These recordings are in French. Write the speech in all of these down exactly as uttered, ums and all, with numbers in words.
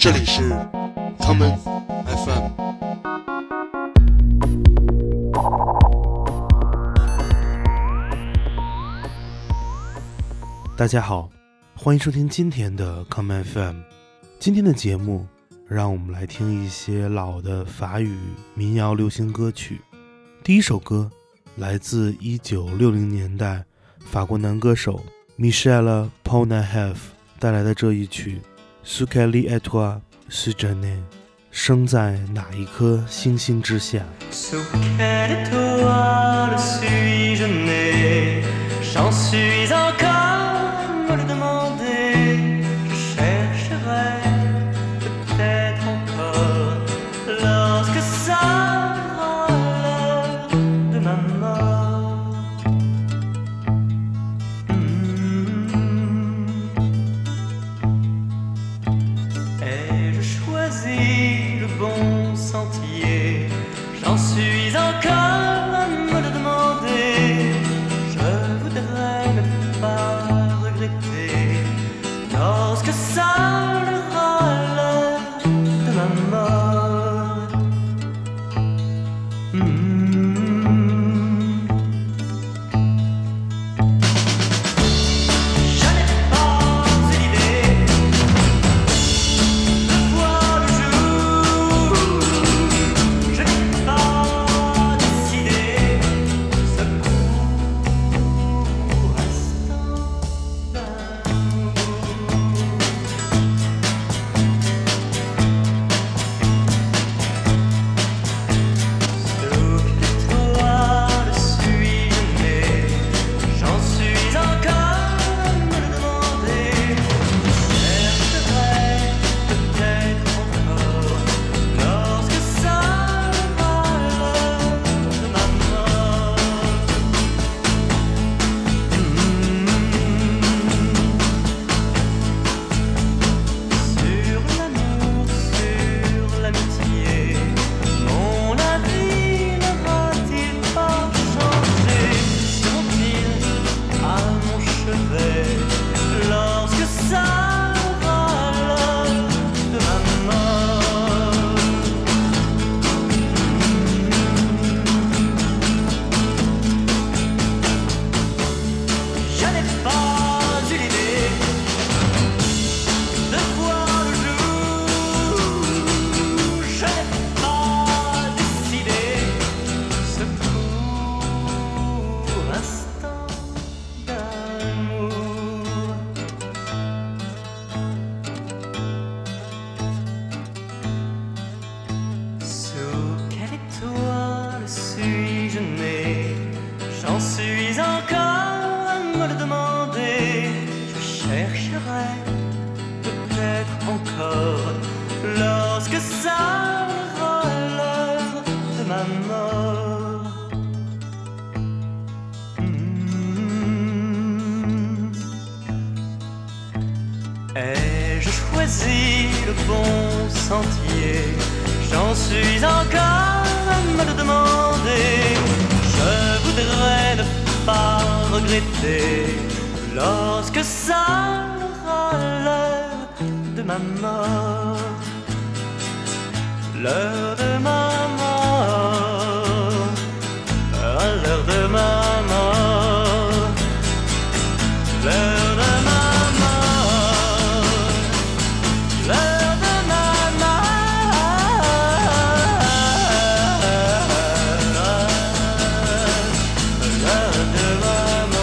这里是 Common F M。 大家好，欢迎收听今天的 Common F M。 今天的节目让我们来听一些老的法语民谣流行歌曲。第一首歌来自一九六零年代法国男歌手 Michel Polnareff 带来的这一曲 Sous quelle étoile suis-je né， 生在哪一颗星星之下。 Sous quelle étoile suis-je né， j'en suis encore me le demander， je chercherai peut-être encore lorsque sera l'heure de ma mort. Mmh. Ai-je choisi le bon sentier? J'en suis encore à me le demander. Je voudrais ne pas regretter lorsque sonnera l'heure de ma mort. Mmh. Je n'ai pas eu l'idée de voir le jour. Je n'ai pas décidé ce court instant d'amour. Sous quelle étoile suis-je né? J'en suis encore à me le demander. Je chercherai peut-être encore lorsque sonnera l'heure de ma mort. Sur l'amour, sur l'amitié, mon avis n'aura-t-il pas changé? Seront-ils à mon chevet lorsque sonnera l'heure de ma mort? Je n'ai pas eu l'idée de voir le jour. Je n'ai pas décidé ce court instant d'amour. Sous quelle étoile suis-je né? J'en suis encore à me le demander. Je chercherai peut-être encore lorsque sonnera l'heure de ma mort. Mmh. Ai-je choisi le bon sentier? J'en suis encore à me le demander. Je voudrais ne pas regretter lorsque sonnera l'heure de ma mort. L'heure de ma mort. À l'heure de ma mort. L'heure de ma mort. L'heure de ma mort. L'heure de ma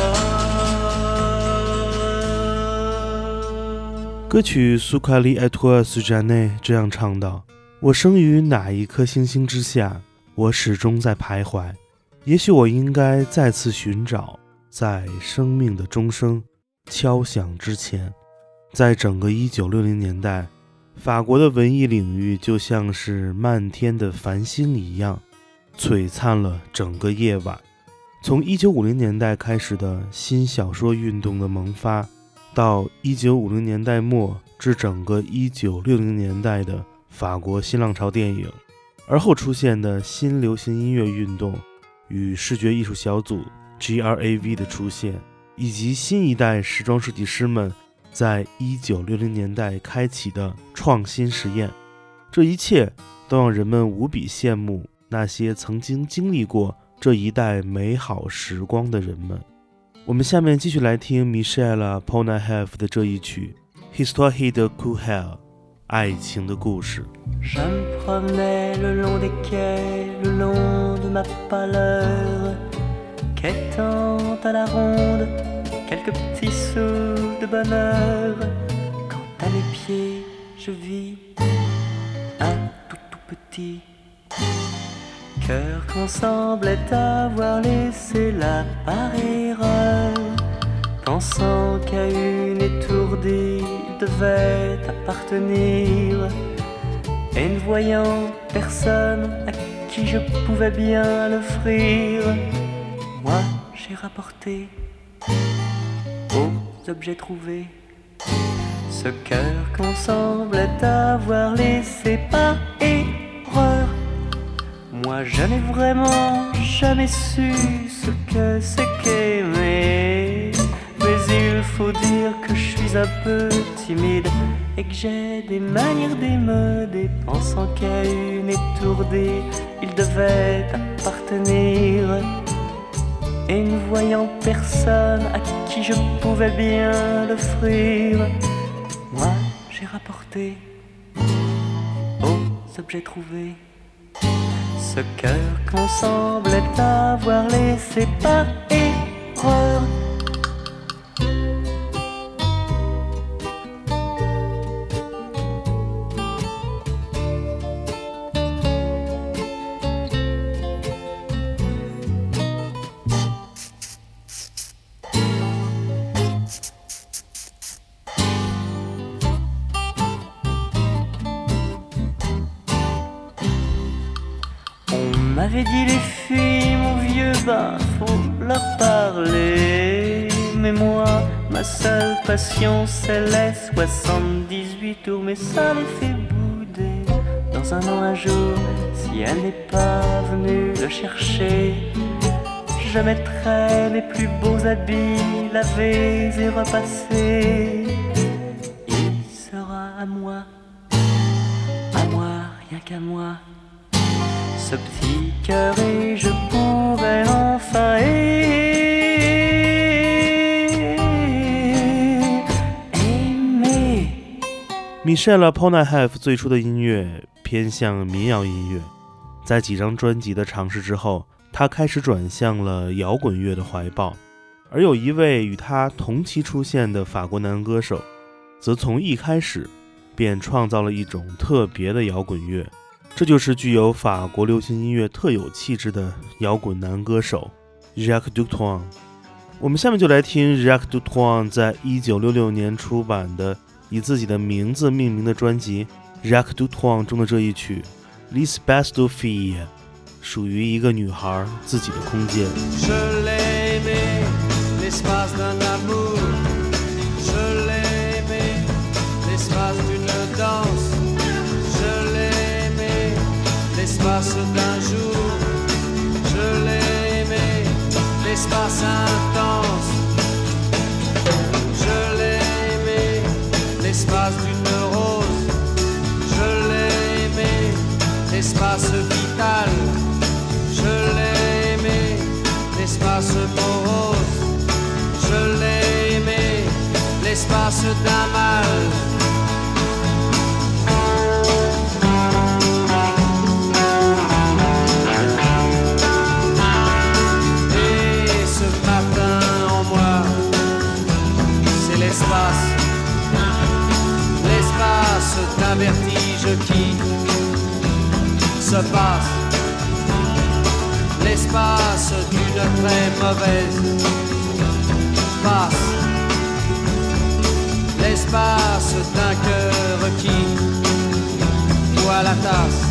mort. 歌曲苏卡利埃托尔斯詹内这样唱道：我生于哪一颗星星之下，我始终在徘徊。也许我应该再次寻找，在生命的钟声敲响之前。在整个一九六零年代，法国的文艺领域就像是漫天的繁星一样，璀璨了整个夜晚。从一九五零年代开始的新小说运动的萌发，到一九五零年代末至整个一九六零年代的法国新浪潮电影，而后出现的新流行音乐运动与视觉艺术小组 G R A V 的出现，以及新一代时装设计师们在一九六零年代开启的创新实验，这一切都让人们无比羡慕那些曾经经历过这一代美好时光的人们。我们下面继续来听 Michel Polnareff 的这一曲 Histoire de Courel 爱情的故事。 Je me promenais le long des quais, le long de ma pâleur, quêtant à la ronde quelques petits sous de bonheur. Quand à mes pieds je vis un tout tout petit cœur qu'on semblait avoir laissé là par erreur, pensant qu'à une étourdie il devait appartenir, et ne voyant personne à qui je pouvais bien l'offrir, moi j'ai rapporté aux objets trouvés ce cœur qu'on semblait avoir laissé par erreur. Moi je n'ai vraiment jamais su ce que c'est qu'aimer, mais il faut dire que je suis un peu timide et que j'ai des manières d'émeuder, pensant qu'à une étourdie il devait appartenir, et ne voyant personne à qui je pouvais bien l'offrir, moi j'ai rapporté aux objets trouvés ce cœur qu'on semblait avoir laissé par erreur. On m'avait dit les filles, mon vieux, ben faut leur parler. Mais moi, ma seule passion c'est les soixante-dix-huit tours. Mais ça les fait bouder dans un an un jour. Si elle n'est pas venue le chercher, je mettrai mes plus beaux habits lavés et repassés. Il sera à moi, à moi, rien qu'à moi, ce petit cœur, et je pourrais enfin aimer. Michel Polnareff 最初的音乐偏向民谣音乐，在几张专辑的尝试之后，他开始转向了摇滚乐的怀抱。而有一位与他同期出现的法国男歌手，则从一开始便创造了一种特别的摇滚乐，这就是具有法国流行音乐特有气质的摇滚男歌手 Jacques Dutronc。 我们下面就来听 Jacques Dutronc 在一九六六年出版的以自己的名字命名的专辑 Jacques Dutronc 中的这一曲 L'espace de fille， 属于一个女孩自己的空间。 Je l'ai aimé, l'espace d'un amour. Je l'ai aimé, l'espace d'une danse. Je l'ai aimé, l'espace d'un jour. Je l'ai aimé, l'espace intense. Je l'ai aimé, l'espace d'une rose. Je l'ai aimé, l'espace vital. Je l'ai aimé, l'espace morose. Je l'ai aimé, l'espace d'un mal. Et ce matin en moi, c'est l'espace, l'espace d'un vertige qui se passe, l'espace d'une très mauvaise passe, l'espace d'un cœur qui boit la tasse.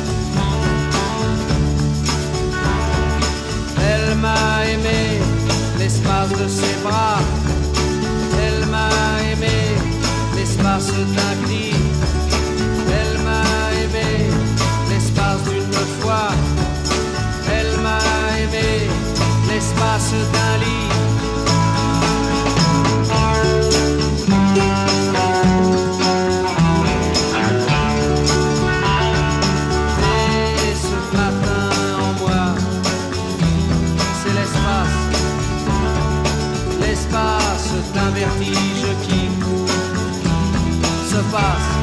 Elle m'a aimé, l'espace de ses bras. Elle m'a aimé, l'espace d'un cri. Elle m'a aimé, l'espace d'une fois. Elle m'a aimé, l'espace d'un lit. vertige qui se passe,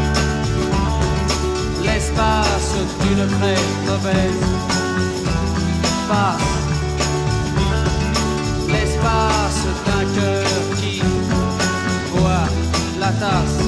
l'espace d'une très mauvaise passe, l'espace d'un cœur qui voit la tasse。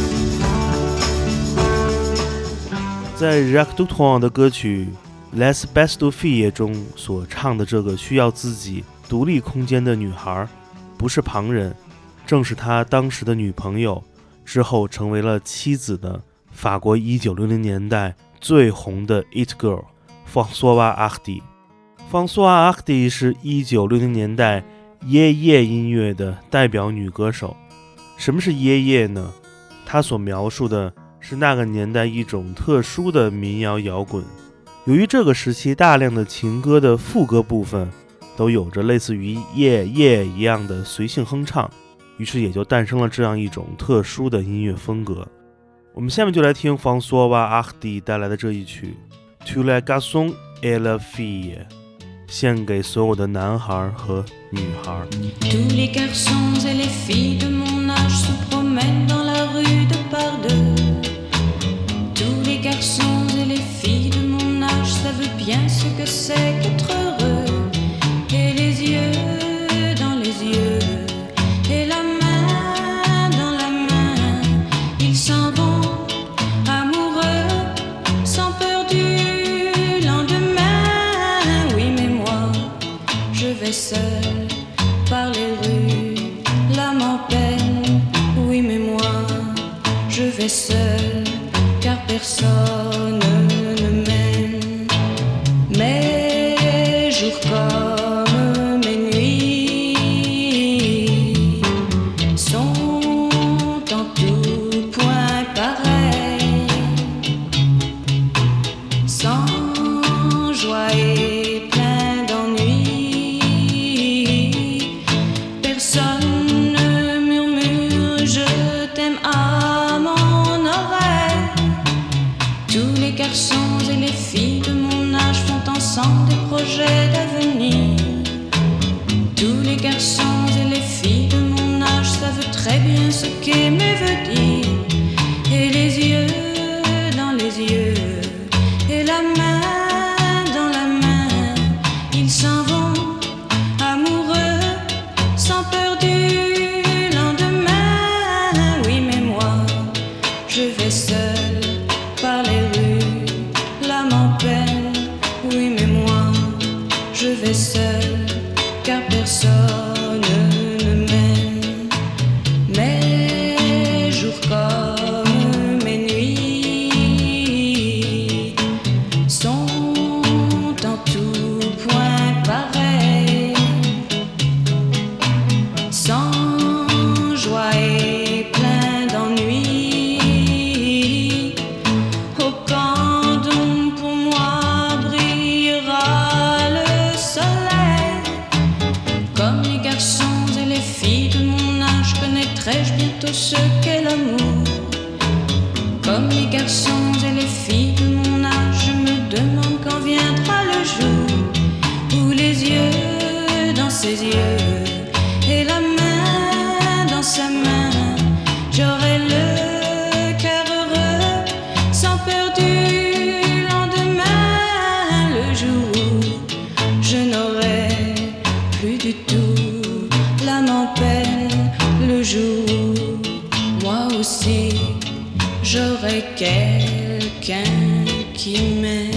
在 Jacques Dutronc 的歌曲 Les Best of Filles 中所唱的这个需要自己独立空间的女孩，不是旁人，正是他当时的女朋友，之后成为了妻子的法国一九六零年代最红的 It Girl Françoise Hardy。 Françoise Hardy 是一九六零年代耶耶音乐的代表女歌手。什么是耶耶呢？她所描述的是那个年代一种特殊的民谣摇滚。由于这个时期大量的情歌的副歌部分都有着类似于耶耶一样的随性哼唱，于是也就诞生了这样一种特殊的音乐风格。我们下面就来听 Françoise Hardy 带来的这一曲 Tous les garçons et les filles， 献给所有的男孩和女孩。 Tous les garçons et les filles de mon âge se promènent dans la rue de par deux. Tous les garçons et les filles de mon âge savent bien ce que c'est qu'être heureux. Et les yeux dans les yeux, et la main dans la main, ils s'en vont amoureux, sans peur du lendemain. Oui, mais moi, je vais seul par les rues, l'âme en peine. Oui, mais moi, je vais seul, car personne ne m'aime. Mes jours comme mes nuits sont en tout point pareils, sans joie et plein d'ennui. Personne ne murmure je t'aime à mon oreille. Tous les garçons et les filles de mon âge font ensemble des projets d'avenir. Tous les garçons et les filles de mon âge savent très bien ce qu'aimer veut dire. Et les yeux dans les yeux, et la main dans la main, ils s'en vont amoureux, sans peur du lendemain. Oui, mais moi, je vais seul par les rues, l'âme en peine. Oui, mais moi, je vais seul, car personne ne m'aime. Mes jours comme mes nuits sont en tout point pareils, sans joie et plein d'ennui. Au camp d'ombre pour moi brillera le soleil. Comme les garçons et les filles de mon âge, connaîtrai-je bientôt ce qu'est l'amour. Comme les garçons et les filles de mon âge, je me demande quand viendra le jour où les yeux dans ses yeux, et la main dans sa main, j'aurai le cœur heureux, sans peur du lendemain. Le jour où je n'aurai plus du tout l'âme en peine. Le jour où moi aussi j'aurai quelqu'un qui m'aime.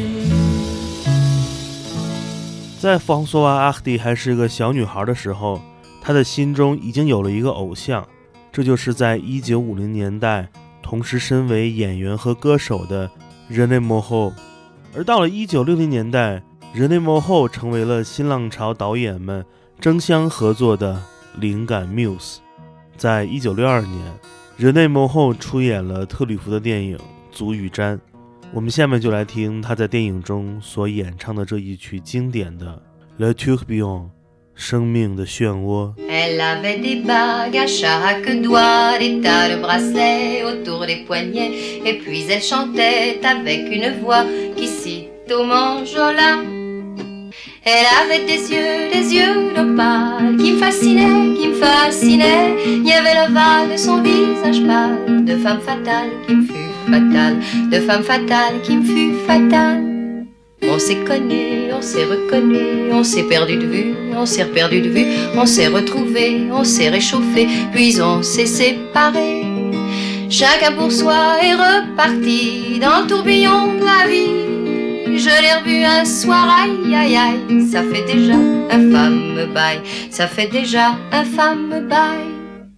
在方索瓦阿克蒂还是个小女孩的时候，她的心中已经有了一个偶像，这就是在一九五零年代同时身为演员和歌手的 René Moreau。 而到了一九六零年代， René Moreau 成为了新浪潮导演们争相合作的灵感 muse。 在一九六二年， René Moreau 出演了特吕弗的电影《足与毡》。我们下面就来听他在电影中所演唱的这一曲经典的 Le Tourbillon， 生命的漩涡。 Elle avait des bagues à chaque doigt, des tas de bracelets autour des poignets, et puis elle chantait avec une voix qui cite au manjola. Elle avait des yeux, des yeux d'opale qui me fascinaient, qui me fascinaient. Il y avait l'ovale de son visage pâle, de femme fatale qui me fut fatale, de femme fatale qui me fut fatale. On s'est connus, on s'est reconnus, on s'est perdu de vue, on s'est perdu de vue, on s'est retrouvés, on s'est réchauffés, puis on s'est séparés. Chacun pour soi est reparti dans le tourbillon de la vie. Je l'ai revu un soir, aïe aïe aïe, ça fait déjà un fameux bail, ça fait déjà un fameux bail.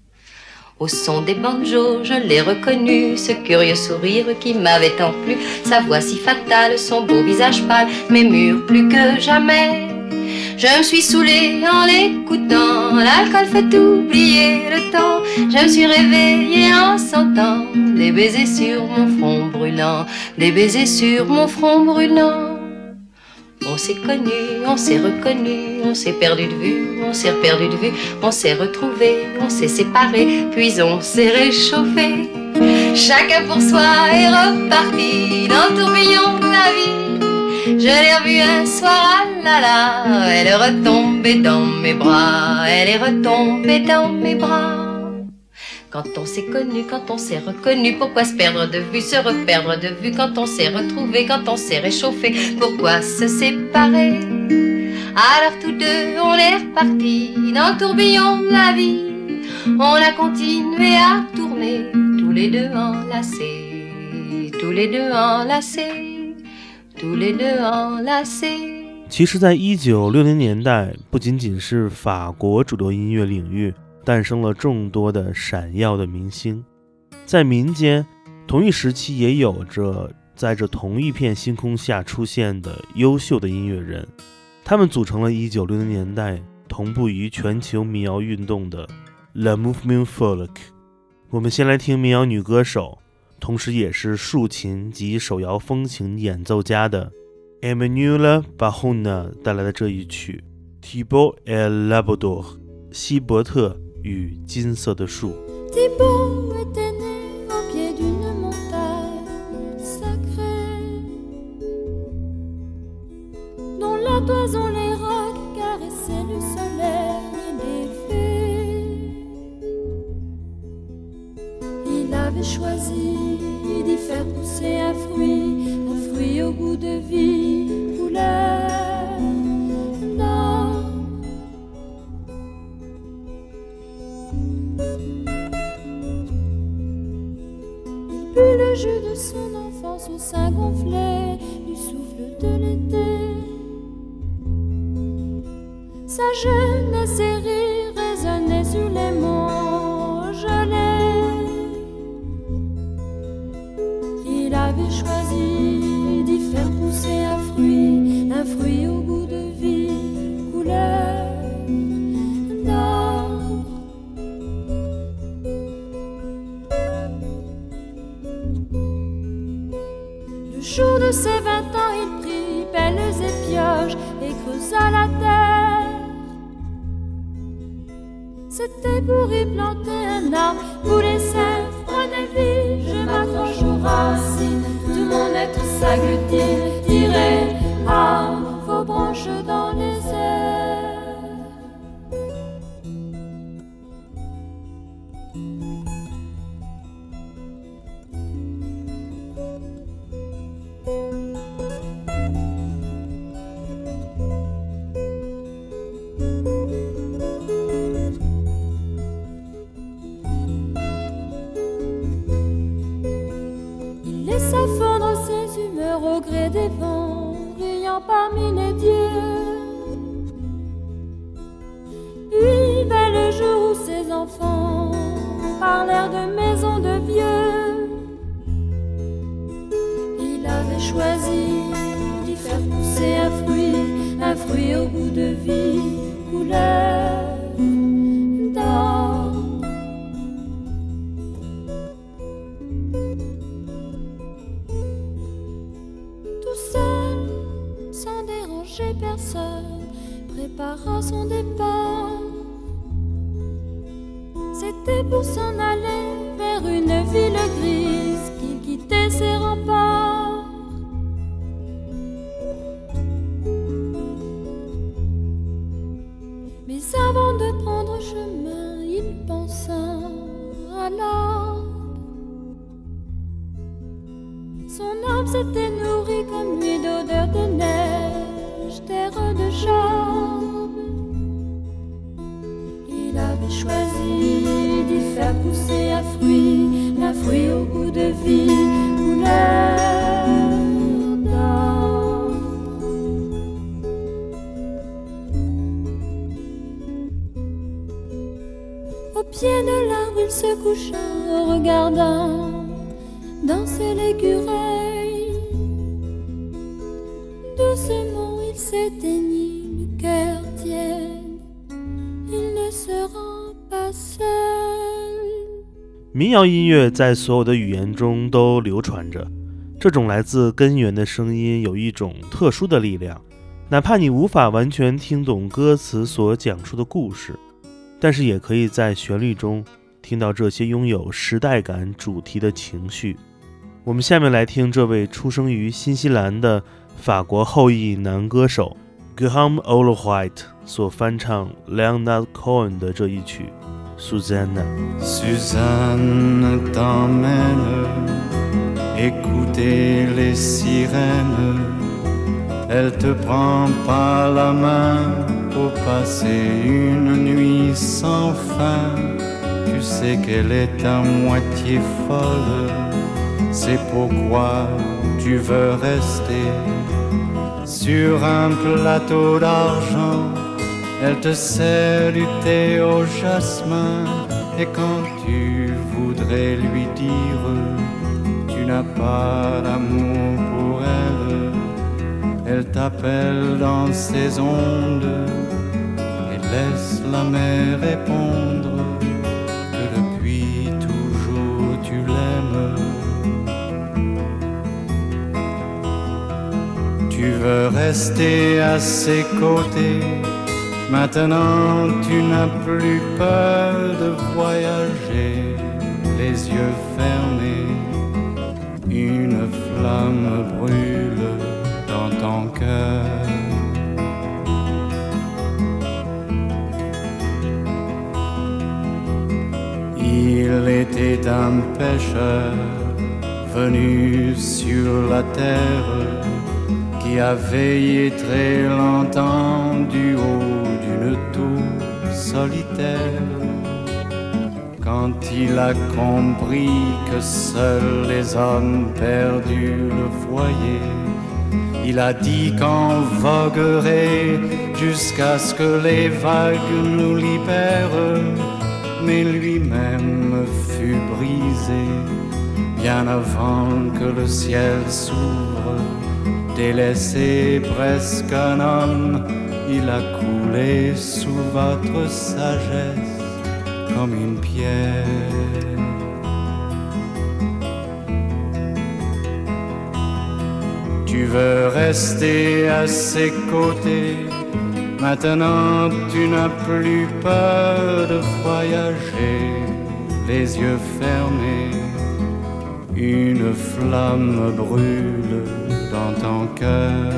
Au son des banjos, je l'ai reconnu, ce curieux sourire qui m'avait tant plu, sa voix si fatale, son beau visage pâle, mais mûr plus que jamais. Je me suis saoulée en l'écoutant, l'alcool fait oublier le temps. Je me suis réveillée en sentant des baisers sur mon front brûlant, des baisers sur mon front brûlant. On s'est connus, on s'est reconnus, on s'est perdu de vue, on s'est perdu de vue, on s'est retrouvés, on s'est séparés, puis on s'est réchauffés. Chacun pour soi est reparti dans le tourbillon de la vie. Je l'ai revue un soir, ah là là, elle est retombée dans mes bras, elle est retombée dans mes bras. Quand on s'est connu, quand on s'est reconnu, pourquoi se perdre de vue, se reperdre de vue? Quand on s'est retrouvé, quand on s'est réchauffé, pourquoi se séparer? Alors tous deux, on est repartis dans le tourbillon de la vie. On a continué à tourner, tous les deux enlacés, tous les deux enlacés, tous les deux enlacés。 其实在一九六零年代，不仅仅是法国主流音乐领域诞生了众多的闪耀的明星，在民间同一时期也有着在这同一片星空下出现的优秀的音乐人，他们组成了一九六零年代同步于全球民谣运动的 Le Mouvement Folk。 我们先来听民谣女歌手，同时也是竖琴及手摇风琴演奏家的 Emmanuelle Bahona 带来的这一曲 Thibaut et Labrador， 希伯特与金色的树。 Thibaut était né au pied d'une montagne sacrée, dont la toison les rocs caressaient le soleil et les fées. Il avait choisi d'y faire pousser un fruit, un fruit au goût de vie, couleur d'or. Le jus de son enfance au sein gonflé du souffle de l'été. Sa jeunesse et rire résonnait sur les monts gelés. Il avait choisi d'y faire pousser un fruit, un fruit au goût de vie, couleur d'or. Le jour de ses vingt ans, il prit pelles et pioches et creusa la terre. C'était pour y planter un arbre où les sèves prenaient vie. Je m'accroche aux racines, tout mon être s'agglutine, tiré à vos branches dans les airs. Laissa fondre ses humeurs au gré des vents, riant parmi les dieux. Puis vint le jour où ses enfants parlèrent de maisons de vieux. Il avait choisi d'y faire pousser un fruit, un fruit au goût de vie, couleur d'or. Personne prépara son départ. C'était pour s'en aller vers une ville grise qu'il quittait ses remparts. l'arbre. Son âme s'était nourrie comme lui d'odeur de neige, terre de charme. Il avait choisi d'y faire pousser un fruit, un fruit au goût de vie, couleur d'or. Au pied de l'arbre, il se coucha, regardant danser l'écureuil. Doucement, il s'éteignit, le cœur tiède. Il ne se rend pas seul。 民谣音乐在所有的语言中都流传着，这种来自根源的声音有一种特殊的力量，哪怕你无法完全听懂歌词所讲述的故事，但是也可以在旋律中听到这些拥有时代感主题的情绪。我们下面来听这位出生于新西兰的法国后裔男歌手 Guillaume Ollewhite 所翻唱 Leonard Cohen 的这一曲 Susanna。 Suzanne t'emmène écouter les sirènes. Elle te prend par la main pour passer une nuit sans fin. Tu sais qu'elle est à moitié folle, c'est pourquoi tu veux rester. Sur un plateau d'argent, elle te sert du thé au jasmin. Et quand tu voudrais lui dire tu n'as pas d'amour pour elle, elle t'appelle dans ses ondes et laisse la mer répondre que depuis toujours tu l'aimes. Tu veux rester à ses côtés. Maintenant tu n'as plus peur de voyager, les yeux fermés. Une flamme brûle dans ton cœur. Il était un pêcheur venu sur la terre qui a veillé très longtemps du haut d'une tour solitaire. Quand il a compris que seuls les hommes perdus le voyaient, il a dit qu'on voguerait jusqu'à ce que les vagues nous libèrent. Mais lui-même fut brisé bien avant que le ciel s'ouvre. Délaissé presque un homme, il a coulé sous votre sagesse comme une pierre. Tu veux rester à ses côtés. Maintenant tu n'as plus peur de voyager, les yeux fermés. Une flamme brûle dans ton cœur.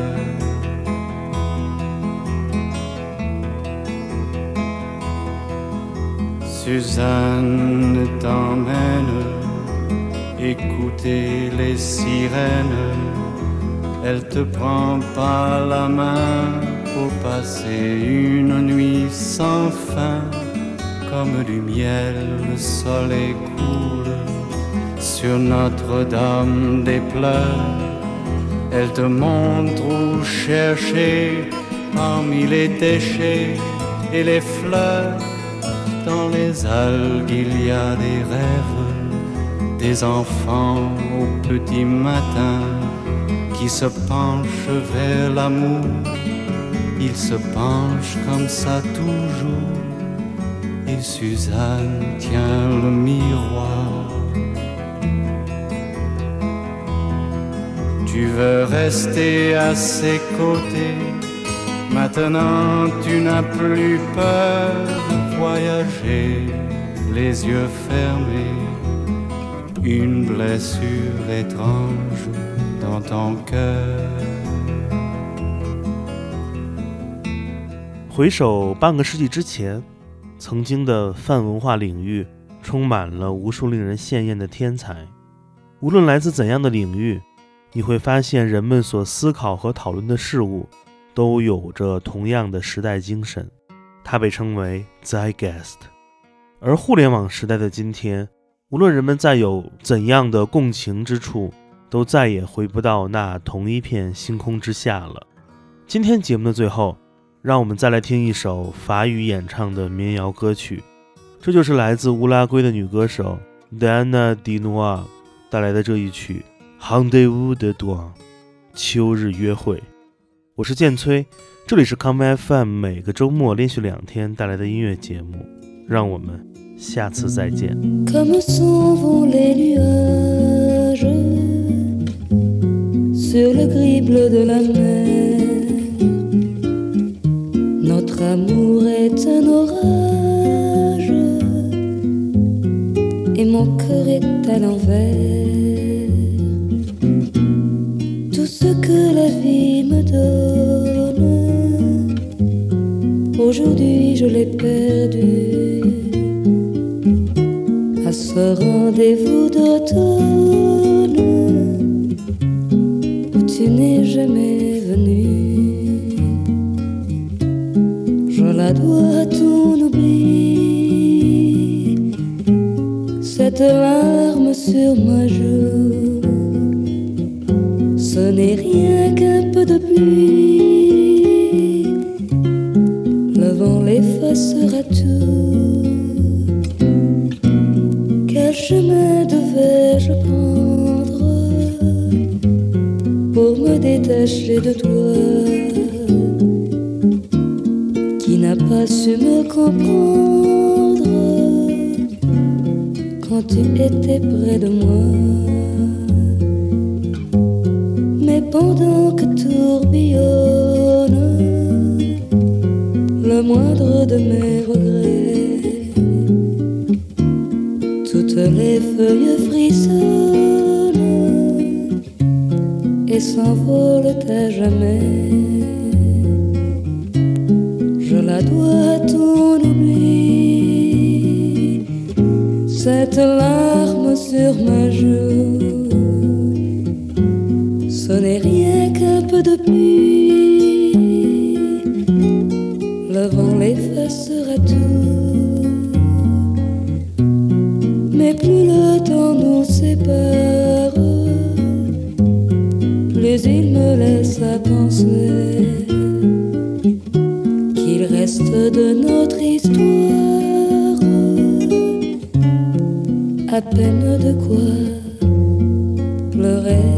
Suzanne t'emmène écouter les sirènes. Elle te prend par la main pour passer une nuit sans fin. Comme du miel, le soleil coule sur Notre-Dame des pleurs. Elle te montre où chercher parmi les déchets et les fleurs. Dans les algues il y a des rêves, des enfants au petit matin qui se penchent vers l'amour. Ils se penchent comme ça toujours. Et Suzanne tient le miroir. Tu veux rester à ses côtés. Maintenant tu n'as plus peur de voyager, les yeux fermés. Une blessure étrange dans ton cœur. 回首半个世纪之前，曾经的泛文化领域充满了无数令人羡艳的天才。无论来自怎样的领域，你会发现人们所思考和讨论的事物都有着同样的时代精神，它被称为 Zeitgeist。 而互联网时代的今天，无论人们再有怎样的共情之处，都再也回不到那同一片星空之下了。今天节目的最后，让我们再来听一首法语演唱的民谣歌曲，这就是来自乌拉圭的女歌手 Diana Dinoir 带来的这一曲 Rendez-vous de Dawn 秋日约会。我是建崔，这里是 Come F M 每个周末连续两天带来的音乐节目，让我们下次再见。 Comme s'en vont les nuages sur le gris bleu de la mer, notre amour est un orage et mon cœur est à l'envers. Tout ce que la vie me donne, aujourd'hui je l'ai perdu. À ce rendez-vous d'automne où tu n'es jamais venu, je la dois à ton oubli, cette larme sur ma joue. Ce n'est rien qu'un peu de pluie, le vent l'effacera tout. Quel chemin devais-je prendre pour me détacher de toi, qui n'a pas su me comprendre quand tu étais près de moi. Mais pendant que tourbillonne le moindre de mes regrets, toutes les feuilles frissonnent et s'envolent à jamais. Je la dois à ton oubli, cette larme sur ma joue. Ce n'est rien qu'un peu de pluie, le vent l'effacera tout. Mais plus le temps nous sépare, plus il me laisse à penser qu'il reste de notre histoire à peine de quoi pleurer.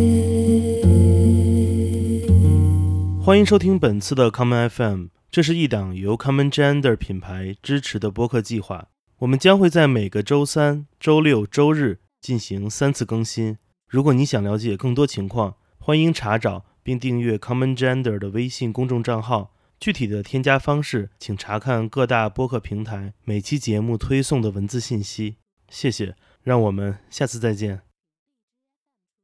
欢迎收听本次的 Common F M， 这是一档由 Common Gender 品牌支持的播客计划。我们将会在每个周三、周六、周日进行三次更新。如果你想了解更多情况，欢迎查找并订阅 Common Gender 的微信公众账号。具体的添加方式，请查看各大播客平台每期节目推送的文字信息。谢谢，让我们下次再见。